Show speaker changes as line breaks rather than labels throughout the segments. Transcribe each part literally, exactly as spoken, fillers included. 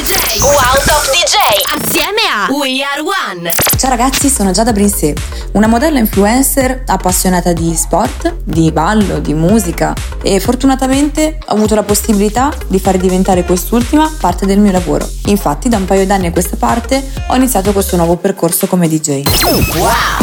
J. Wow Top D J. Assieme a We Are One.
Ciao ragazzi, sono Giada Brinsé, una modella influencer appassionata di sport, di ballo, di musica e fortunatamente ho avuto la possibilità di fare diventare quest'ultima parte del mio lavoro. Infatti da un paio d'anni a questa parte ho iniziato questo nuovo percorso come D J.
Wow!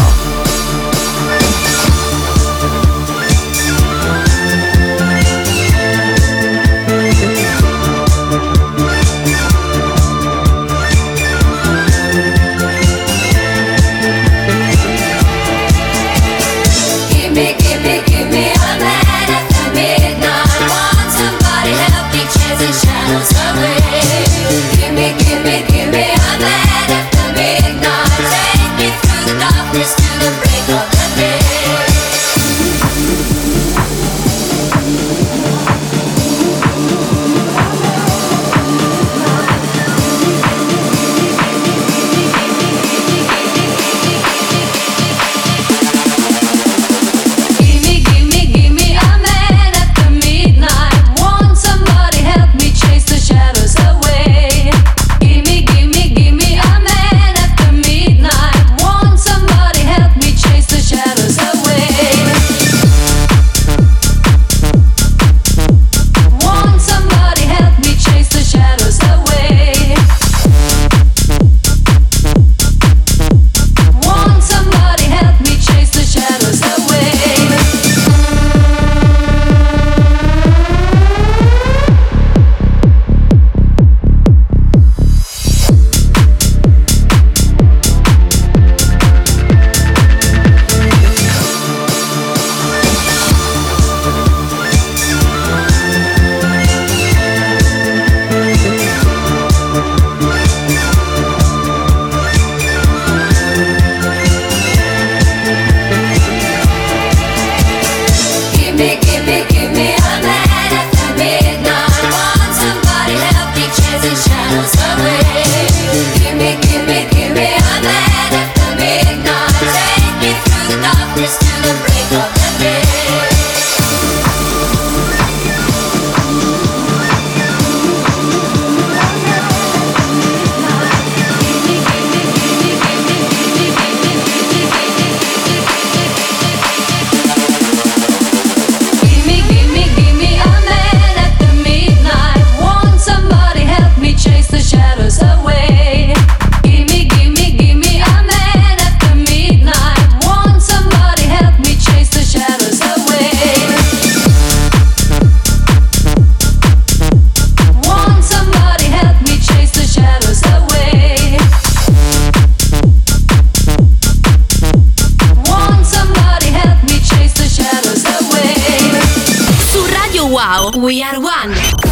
We are one.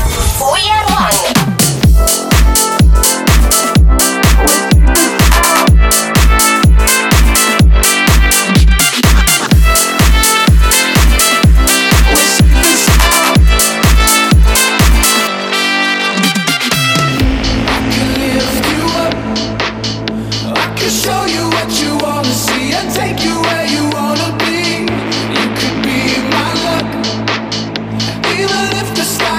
We are one.
Even if the stars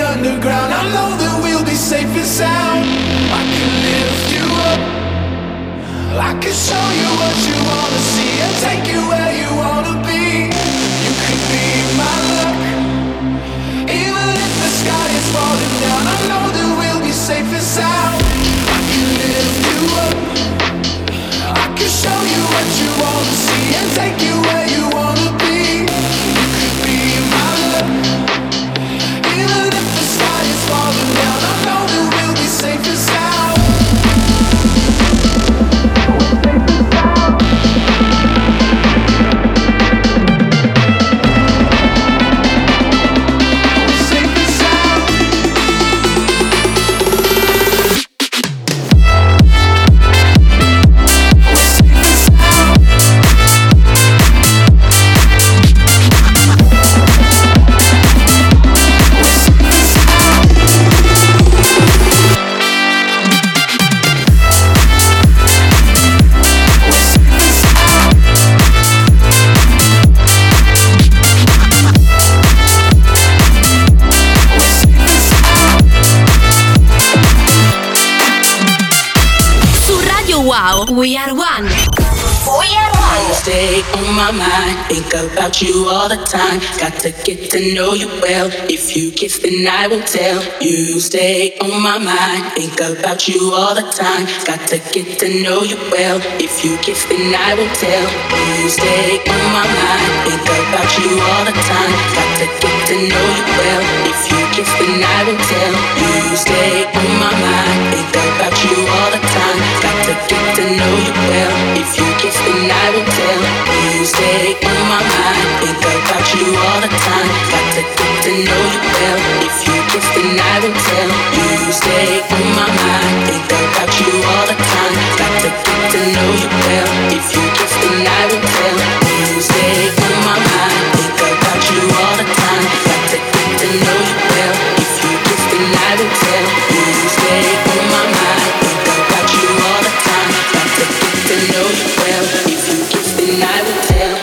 underground. I know that we'll be safe and sound. I can lift you up, I can show you what you wanna see and take you where you wanna be. You could be my luck, even if the sky is falling down. I know that we'll be safe and sound. I can lift you up, I can show you what you wanna see and take you where you wanna be. You could be my luck, even if the sky is falling down. I know that we'll be safe and sound.
We are one. We are one.
Stay on my mind, think about you all the time. Got to get to know you well. If you kiss, then I will tell. You stay on my mind, think about you all the time. Got to get to know you well. If you kiss, then I will tell. You stay on my mind, think about you all the time. Got to get to know you well. If you kiss, then I will tell. You stay on my mind, think about you all the time. Got to get to know you well. If you kiss, then I will tell. You stay on my mind, think about you all the time. Got to get to know you well. If you kiss, then I will tell. You stay on my mind, think about you all the time. Got to get to know you well. If you kiss, then I will tell. You stay on my mind, think about you all the time. Got to get to know you well. If you kiss, then I will tell. You stay on my mind, think about you all the time. Got to get to know you well. If you kiss, then I will tell.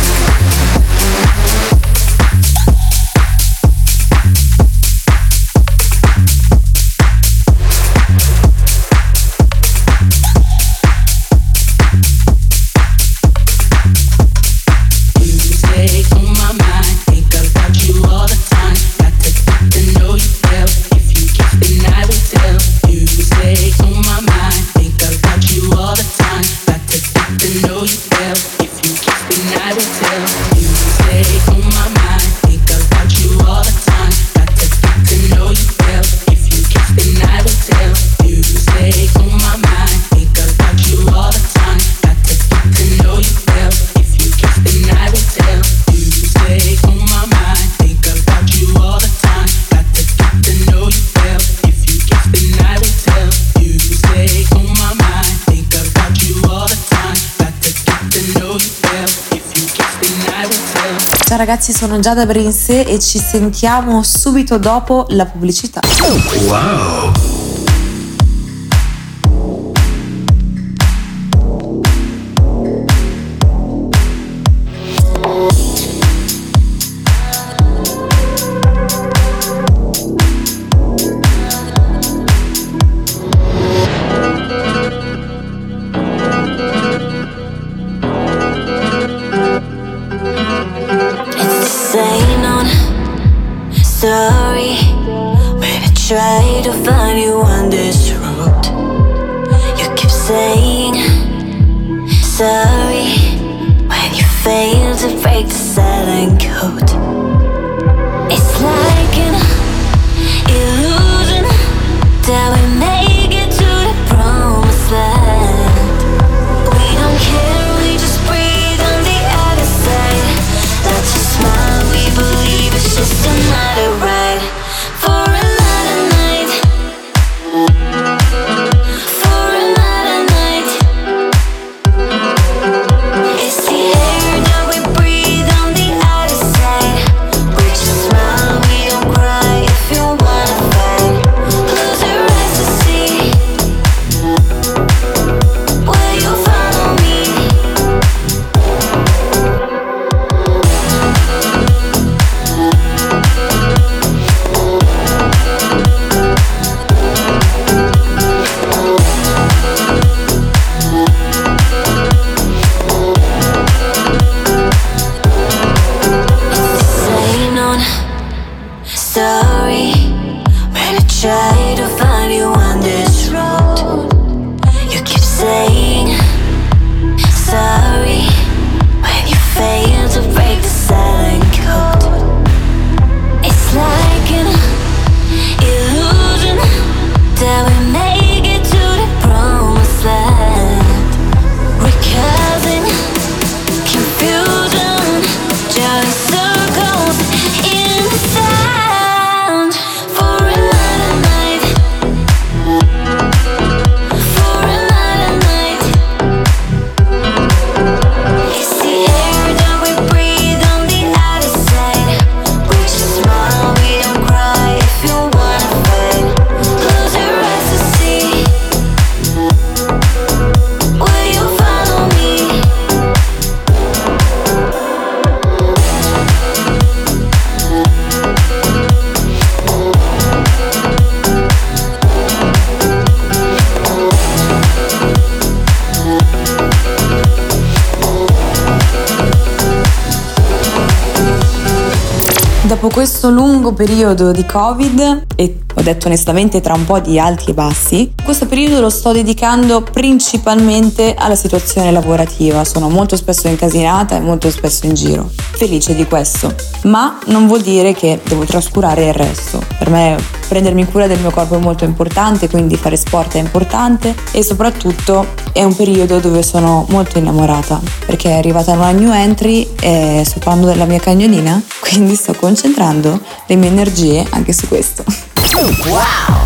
Ciao ragazzi, sono Giada Brinse e ci sentiamo subito dopo la pubblicità.
Wow.
Try to find you on this road. You keep saying sorry when you fail to break the silent code. It's like an illusion that we make it to the promised land. We don't care, we just breathe on the other side. That's a smile, we believe it's just another ride. For another night, for another night. It's the air that we breathe on the other side.
Dopo questo lungo periodo di Covid, e ho detto onestamente tra un po' di alti e bassi, questo periodo lo sto dedicando principalmente alla situazione lavorativa. Sono molto spesso incasinata e molto spesso in giro. Felice di questo, ma non vuol dire che devo trascurare il resto. Per me prendermi cura del mio corpo è molto importante, quindi fare sport è importante e soprattutto è un periodo dove sono molto innamorata, perché è arrivata una new entry e sto parlando della mia cagnolina, quindi sto concentrando le mie energie anche su questo.
Wow!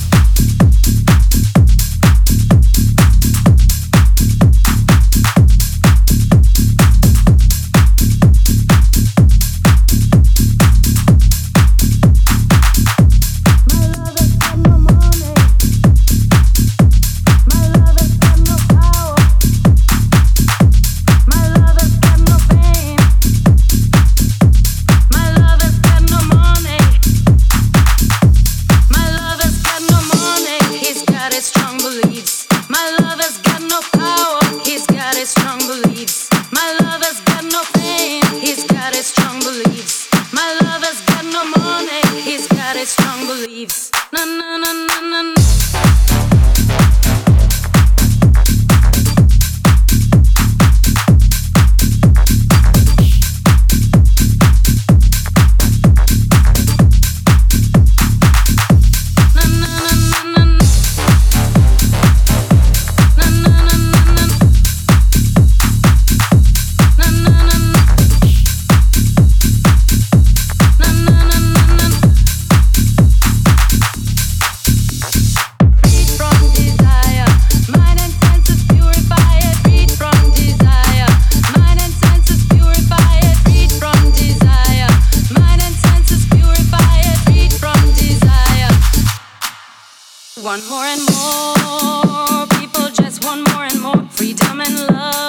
Want more and more, people just want more and more freedom and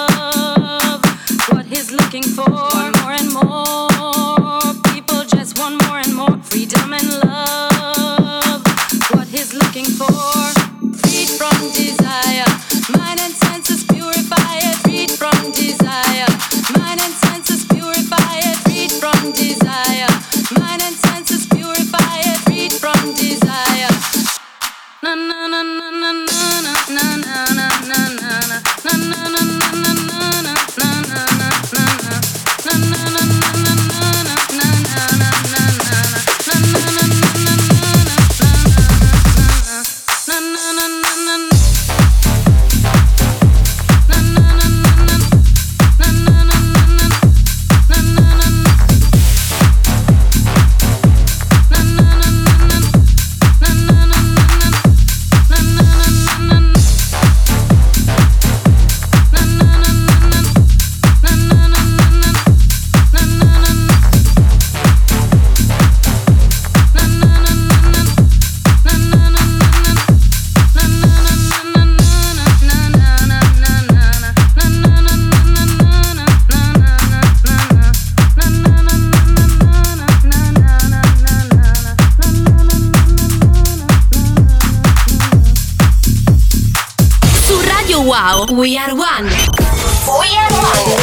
love, what he's looking for. Want more and more, people just want more and more freedom and love, what he's looking for. Freed from desire, mind and senses purify it. Freed from desire, mind and senses purify it. Freed from desire, mind and senses purify it. Freed from desire. Na na na na na na na na na na na na na na na
Wow, we are one. We are one.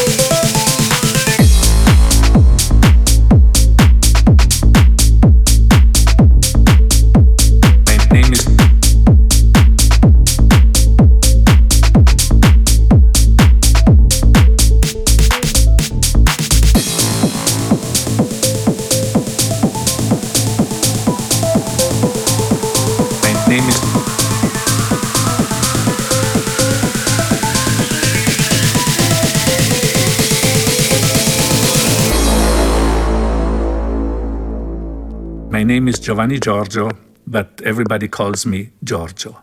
My name is Giovanni Giorgio, but everybody calls me Giorgio.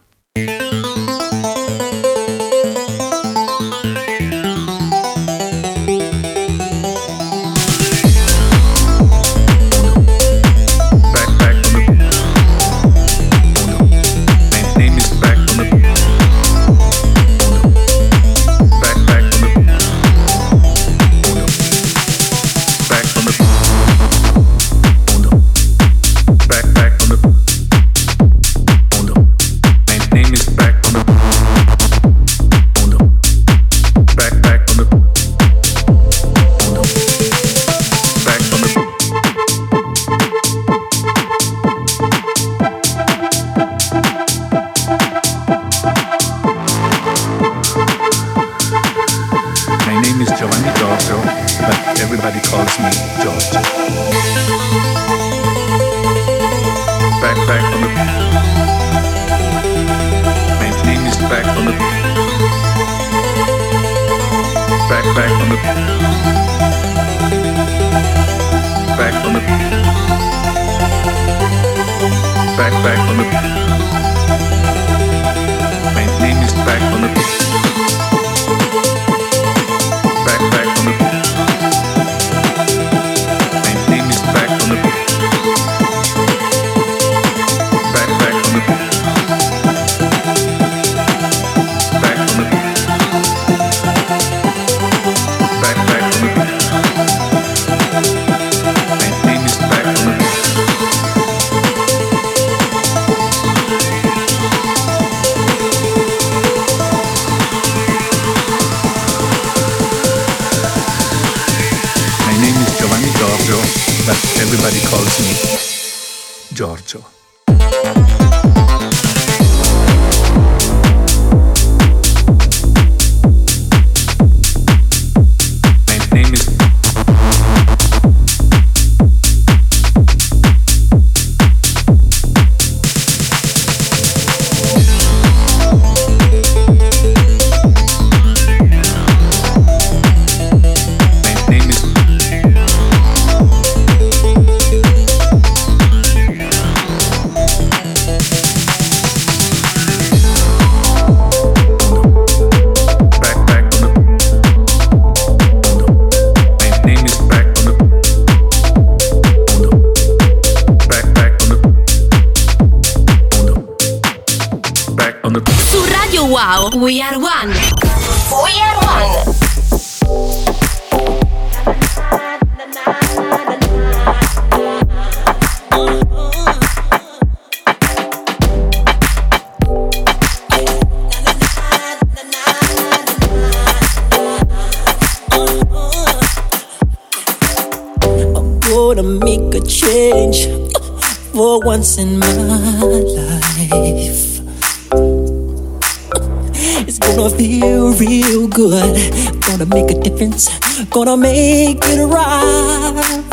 Back on the
on the. My name is back on the. Back, back on the. Back on the. Back, back on the. My name is back on the. Back, back on the. My name is back on the. Back, back on the. Back on the. Back, back on the. My name is back on the. My name is Giovanni Giorgio, but everybody calls me Giorgio. My name is My name is back, back on the. My name is back on the. Back, back on the. Back on the.
Su Radio Wow, We Are One. We Are One.
Gonna make a change for once in my life. It's gonna feel real good. Gonna make a difference. Gonna make it right.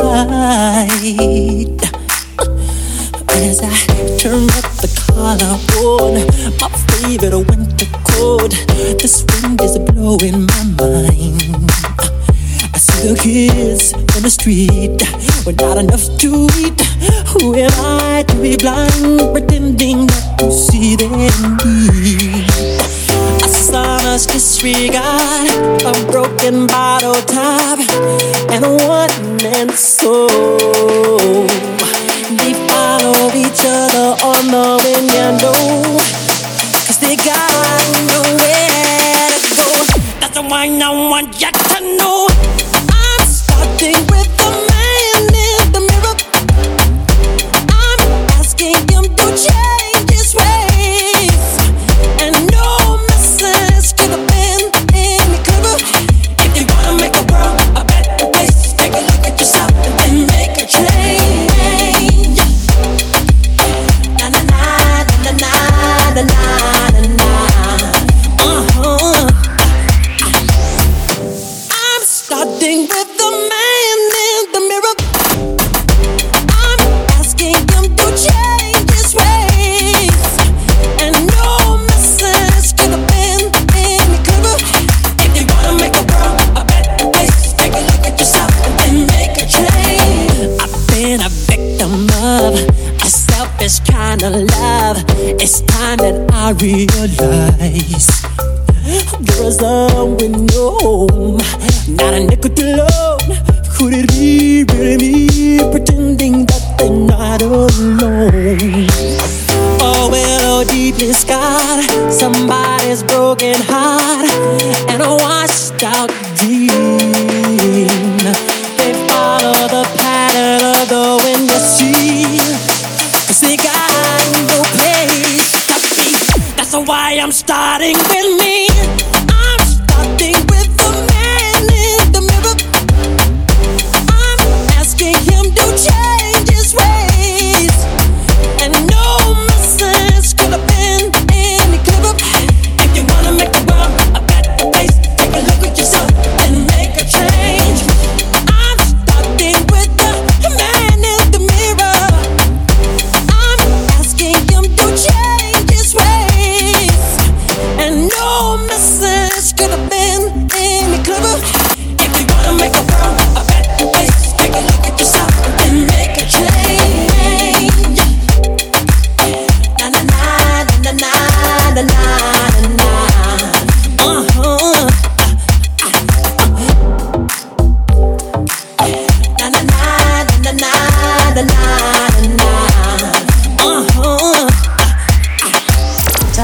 As I turn up the collar on my favorite winter coat, this wind is blowing my mind. I see the kids in the street with not enough to eat. Who am I to be blind, pretending not to see their need? A sonorous disregard, a broken bottle top, and a one-man soul. They follow each other on the window, 'cause they got nowhere to go. That's the one I want you to know. I'm starting with the man in the mirror. I'm asking him to change his ways, and no message could have been any clearer. If you wanna make a world a better place, take a look at yourself and then make a change. Na na na na na na na na. Uh-huh. I'm starting with the man in the mirror. I'm asking him to change his ways, and no message could have been any clearer. If you wanna make a world a better place, take a look at yourself and then make a change. I've been a victim of a selfish kind of love. It's time that I realize there is love with no home, not a nickel to loan. Could it be really me pretending that they're not alone? Oh, well, oh, deeply scarred, somebody's broken heart, and a washed out dream. They follow the pattern of the wind you see, 'cause they got no place to be. That's why I'm starting with me. I'm starting with the man in the mirror. I'm asking him to change his ways, and no message could have been any clearer. If you wanna make the world a better place, take a look at yourself and make a change. I'm starting with the man in the mirror. I'm asking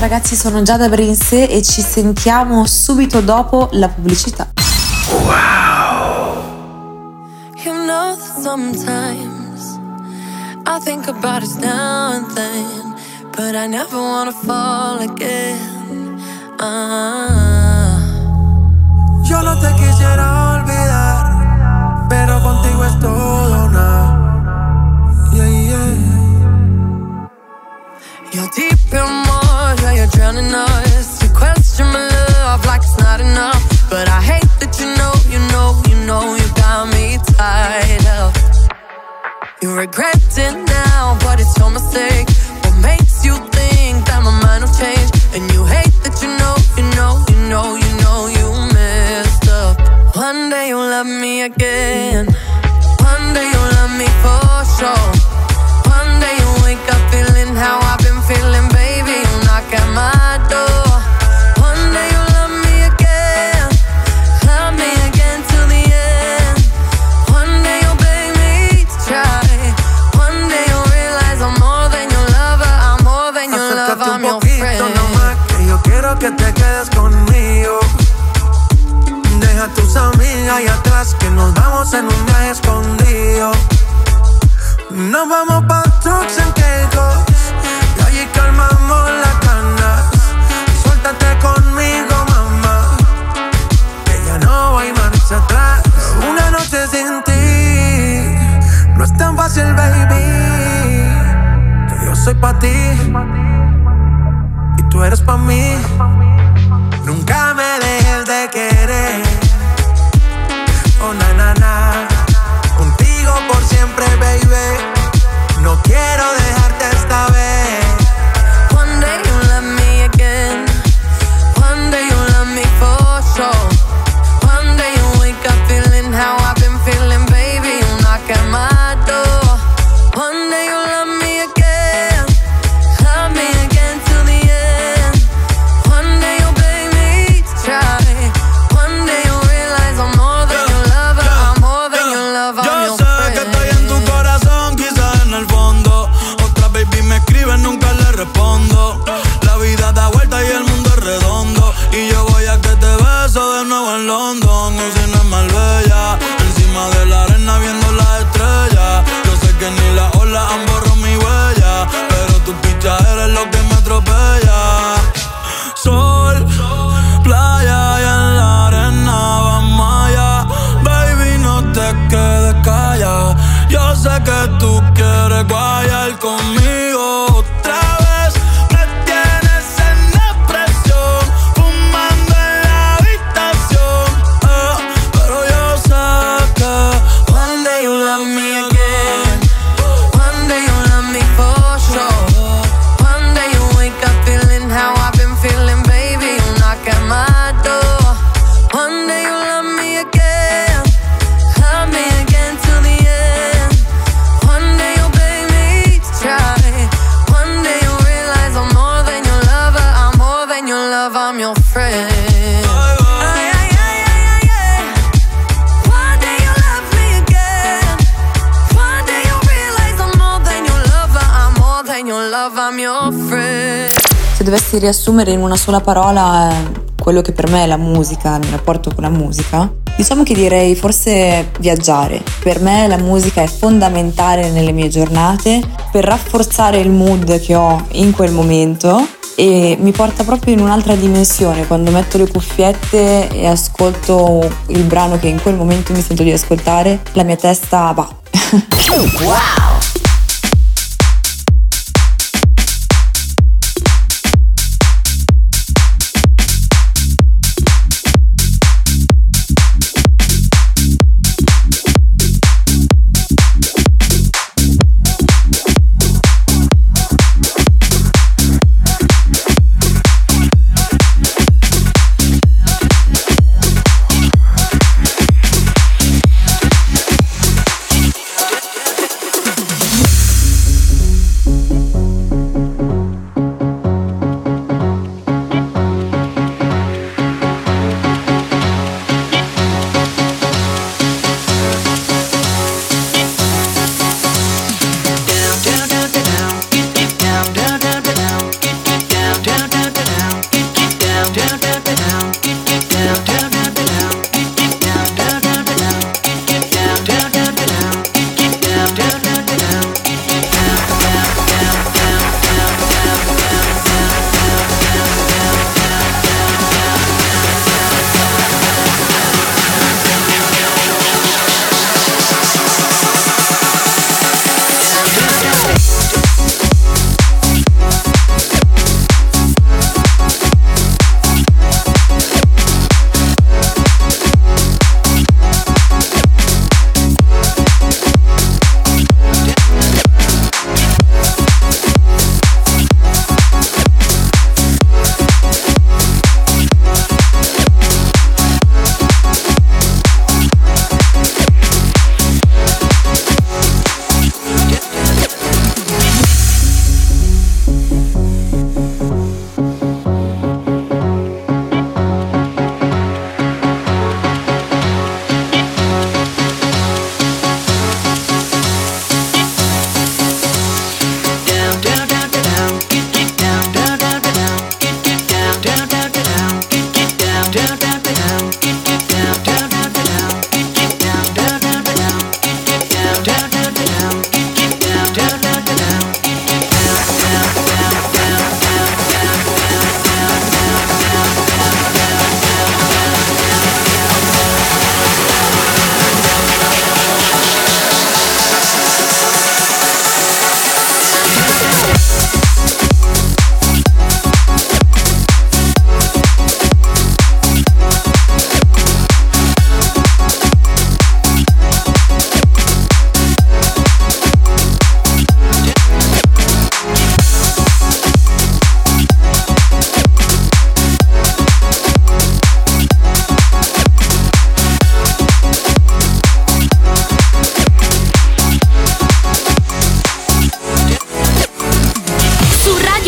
ragazzi, sono Giada Brinse e ci sentiamo subito dopo la pubblicità.
Wow. You know that sometimes I think about us now and then, but I never wanna fall again. Ah.
Yo no te quisiera olvidar, pero contigo es todo una. Yeah, yeah.
You're deep in water, you're drowning us. You question my love like it's not enough, but I hate that you know, you know, you know you got me tied up. You regret it now, but it's your mistake. What makes you think that my mind will change? And you hate that you know, you know, you know, you know you messed up. One day you'll love me again. One day you'll love me for sure. One day you'll wake up feeling how I've been feeling, baby. You'll knock at my door. One day you'll love me again. Love me again till the end. One day you'll beg me to try. One day you'll realize I'm more than your lover. I'm more than your lover, I'm your friend.
Nomás que yo quiero que te quedes conmigo. Deja tus amigas ahí atrás, que nos vamos en un viaje escondido. Nos vamos pa' trucks en Caicos y allí calmamos las ganas. Suéltate conmigo, mamá, que ya no hay marcha atrás. Una noche sin ti no es tan fácil, baby, que yo soy pa' ti y tú eres pa' mí. Nunca me dejes de querer. Oh, na, na, na. Contigo por siempre, baby. No quiero dejarte esta vez.
One day you'll love me again. One day you'll love me for sure. One day you'll wake up feeling how I've been feeling, baby. You'll knock at my door. One day you'll love me again. Love me again till the end. One day you'll beg me to try. One day you'll realize I'm more than your lover. I'm more than your lover, I'm your friend.
Yo sé que estoy en tu corazón, quizás en el fondo. Otra baby me escribe, nunca le respondo. La vida da vuelta y el mundo es redondo. Y yo voy a que te beso de nuevo en London. Cocina es Marbella, encima de la arena viendo las estrellas. Yo sé que ni las olas han borrado mi huella, pero tu picha eres lo que me atropella. Sol, playa y en la arena vamos allá. Baby, no te quedes callada. Yo sé que tú quieres guayar conmigo otra vez. Me tienes en depresión, fumando en la habitación, eh, pero yo sé que
one day you'll love me again. One day you'll love me for sure. One day you'll wake up feeling how I've been feeling, baby. You'll knock at my door. One day you'll love me again. Love me again till the end. One day you'll beg me to try. One day you'll realize I'm more than your lover. I'm more than your lover, I'm your friend. Ay, ay, ay, ay, ay, ay. One day you'll love me again. One day you'll realize I'm more than your lover. I'm more than your lover, I'm your friend.
Se dovessi riassumere in una sola parola eh, quello che per me è la musica, il mio rapporto con la musica, diciamo che direi forse viaggiare. Per me la musica è fondamentale nelle mie giornate per rafforzare il mood che ho in quel momento e mi porta proprio in un'altra dimensione. Quando metto le cuffiette e ascolto il brano che in quel momento mi sento di ascoltare, la mia testa va.
Wow!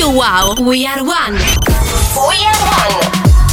Radio Wow, we are one. We are one.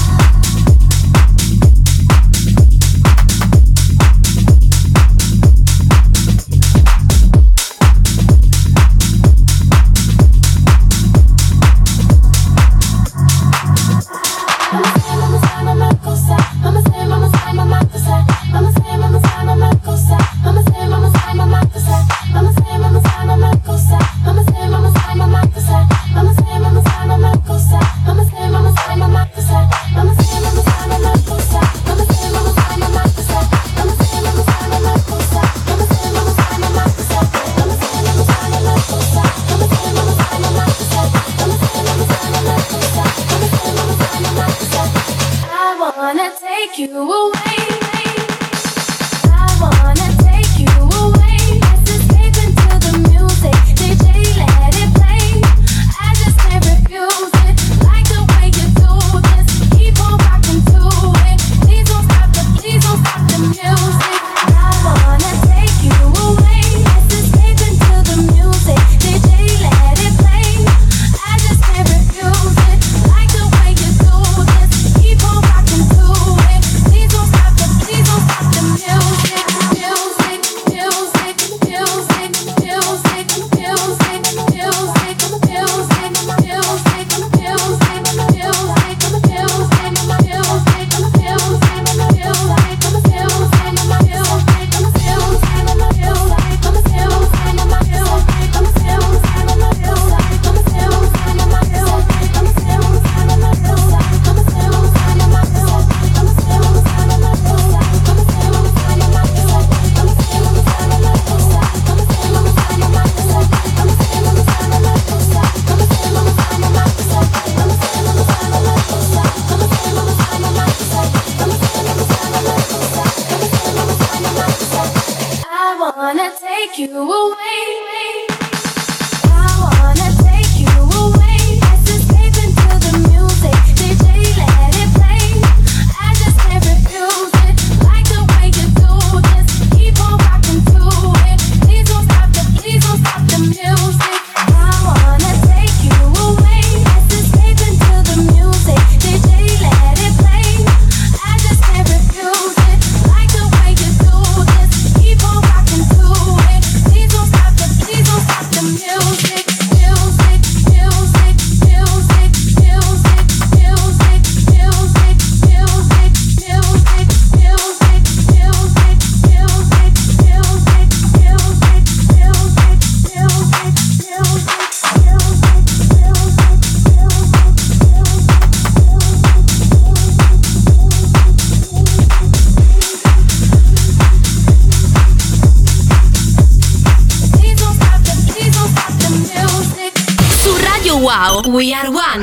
Wow, we are one.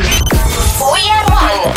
We are one.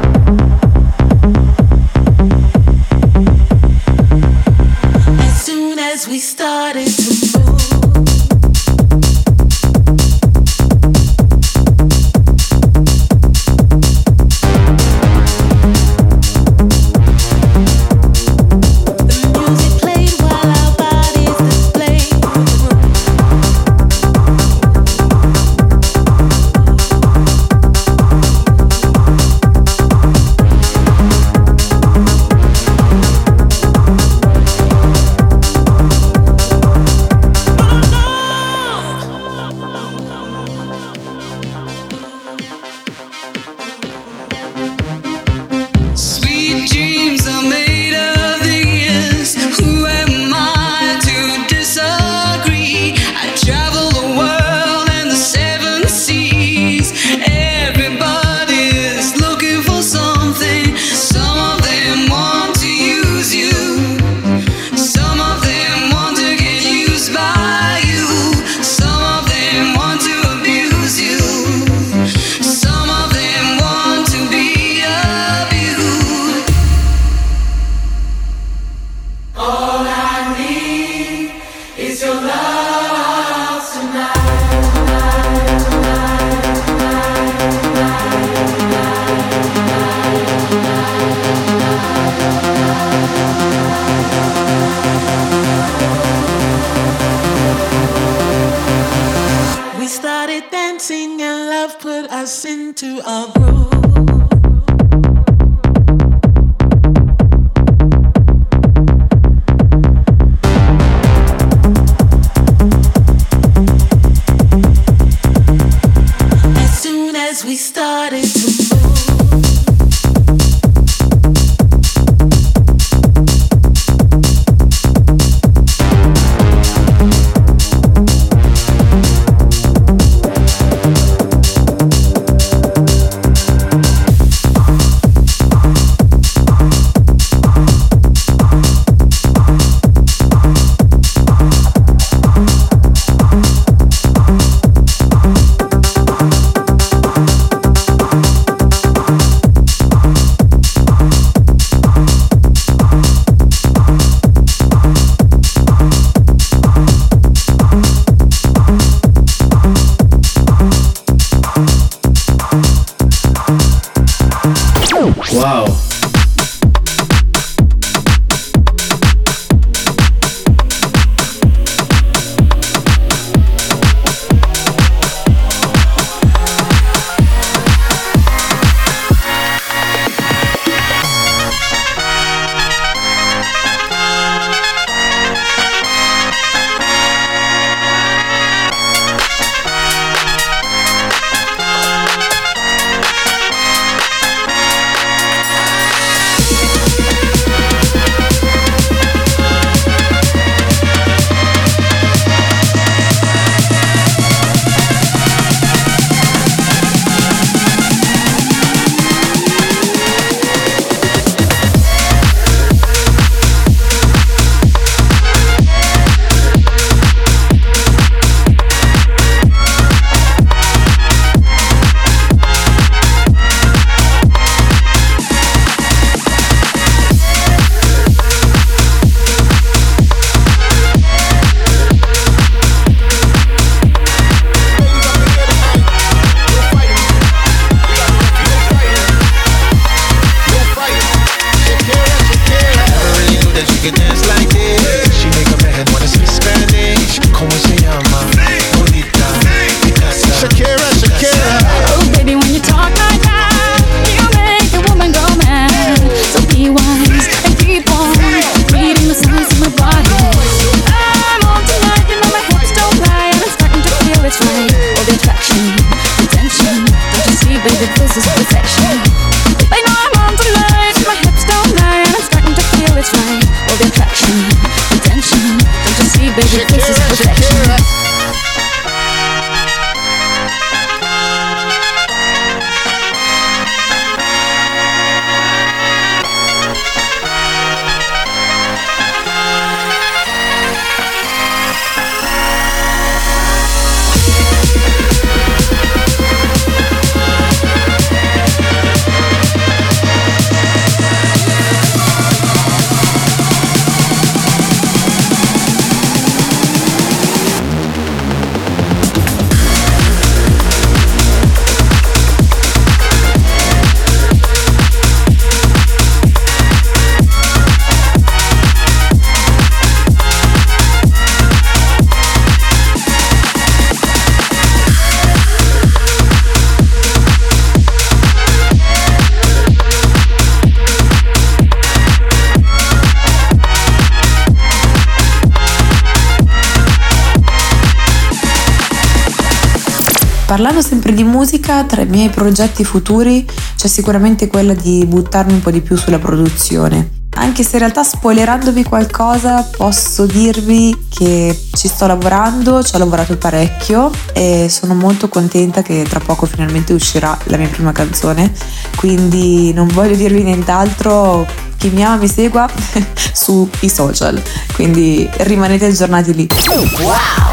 Soon
as we started to move.
Wow.
Parlando sempre di musica, tra i miei progetti futuri c'è sicuramente quella di buttarmi un po' di più sulla produzione. Anche se in realtà, spoilerandovi qualcosa, posso dirvi che ci sto lavorando, ci ho lavorato parecchio e sono molto contenta che tra poco finalmente uscirà la mia prima canzone, quindi non voglio dirvi nient'altro. Chi mi ama mi segua sui social, quindi rimanete aggiornati lì.
Wow!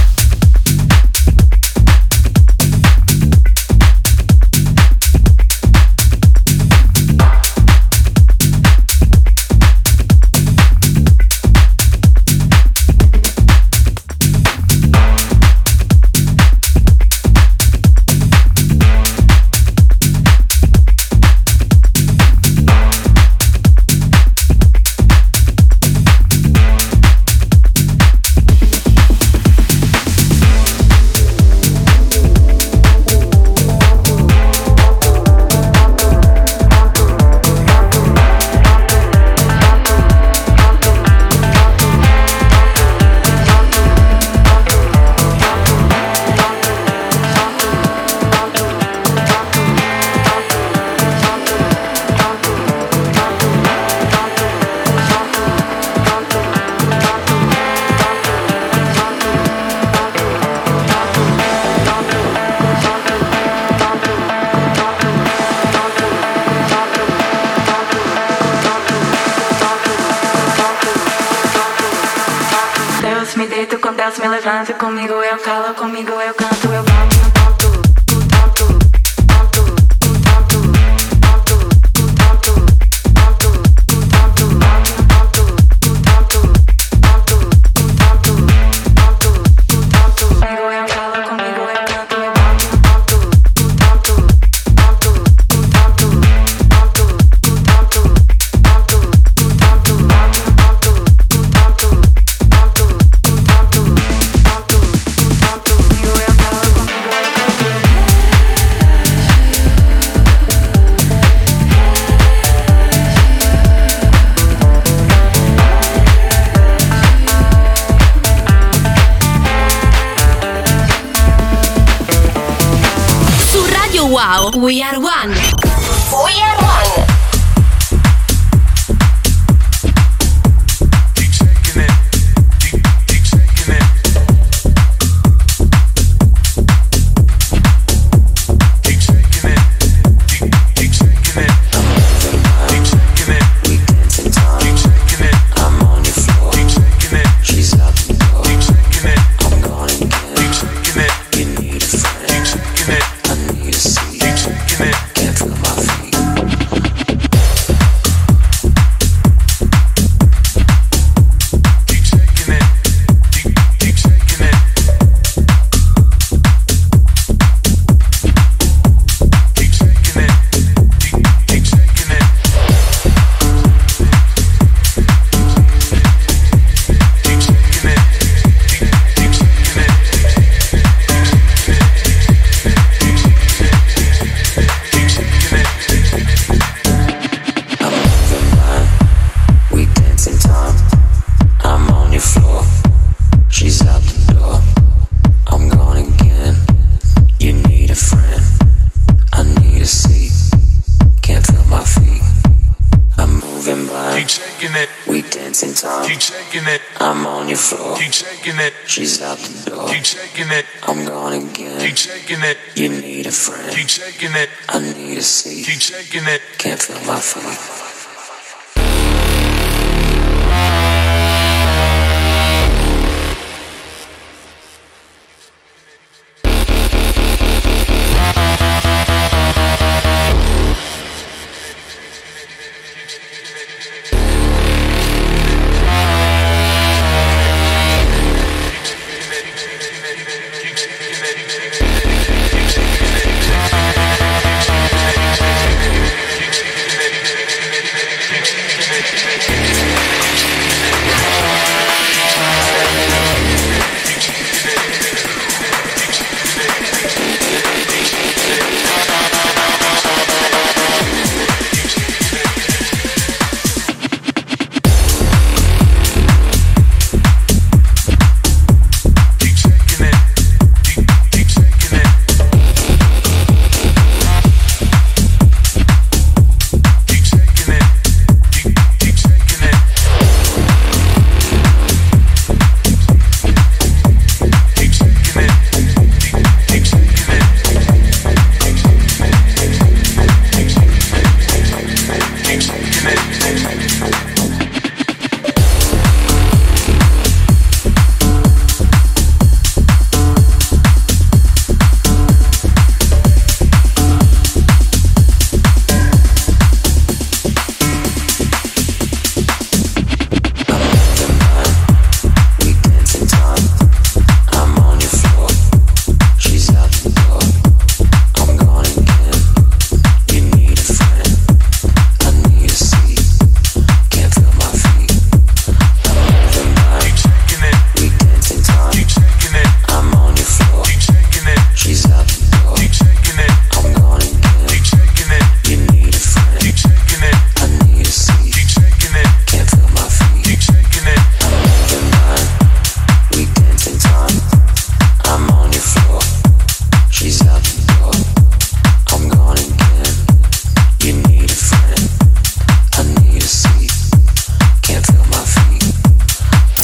Me deito com Deus, me levanta comigo, eu calo comigo, eu canto, eu bato no ponto, o ponto, ponto, o ponto, ponto, o ponto, ponto, o ponto, ponto, o ponto, ponto, o ponto, ponto, o ponto. Comigo eu calo comigo, eu canto, eu bato no ponto, o ponto, ponto, o ponto, ponto, o ponto, ponto, o ponto, bato no ponto, o ponto, ponto.
Wow, we are one. We are one.
I'm on your floor. Keep shaking it. She's out the door. Keep shaking it. I'm gone again. Keep shaking it. You need a friend. Keep shaking it. I need a seat. Keep shaking it. Can't feel my feet.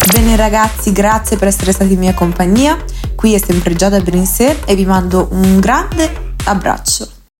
Bene ragazzi, grazie per essere stati in mia compagnia. Qui è sempre Giada Brinsè e vi mando un grande abbraccio.